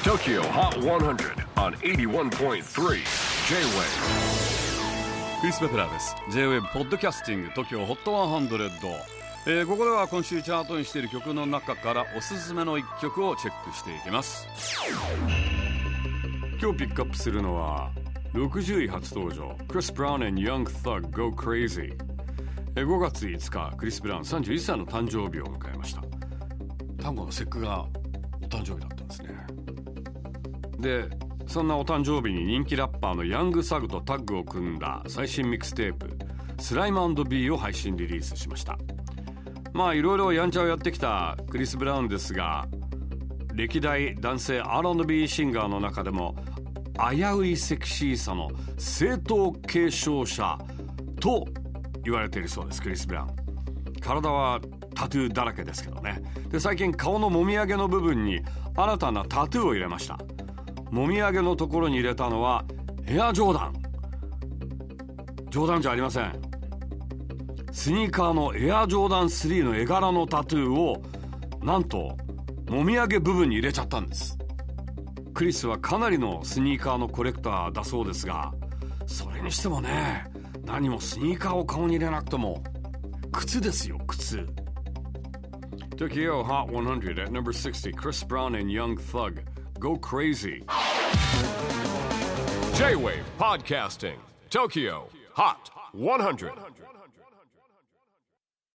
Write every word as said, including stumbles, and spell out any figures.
Tokyo Hot one hundred on エイティワンポイントスリー J-Wave。 クリス・ベプラーです。 J-Wave ポッドキャスティング Tokyo Hot ワンハンドレッド、えー、ここでは今週チャートにしている曲の中からおすすめのいっきょくをチェックしていきます。今日ピックアップするのはろくじゅうい初登場 Chris Brown and Young Thug Go Crazy。ごがついつかクリス・ブラウンさんじゅういっさいの誕生日を迎えました。単語の節句がお誕生日だったんですね。でそんなお誕生日に人気ラッパーのヤングサグとタッグを組んだ最新ミックステープスライム&ビーを配信リリースしました。まあいろいろやんちゃをやってきたクリス・ブラウンですが、歴代男性 アールアンドビー シンガーの中でも危ういセクシーさの正統継承者と言われているそうです。クリス・ブラウン、体はタトゥーだらけですけどね。で最近顔のもみあげの部分に新たなタトゥーを入れました。もみあげのところに入れたのはエアジョーダン。冗談じゃありません。スニーカーのエアジョーダンスリーの絵柄のタトゥーをなんともみあげ部分に入れちゃったんです。クリスはかなりのスニーカーのコレクターだそうですが、それにしてもね、何もスニーカーを顔に入れなくても靴ですよ、靴。Tokyo Hot one hundred at number sixty, Chris Brown and Young Thug Go Crazy。 J-Wave Podcasting Tokyo Hot one hundred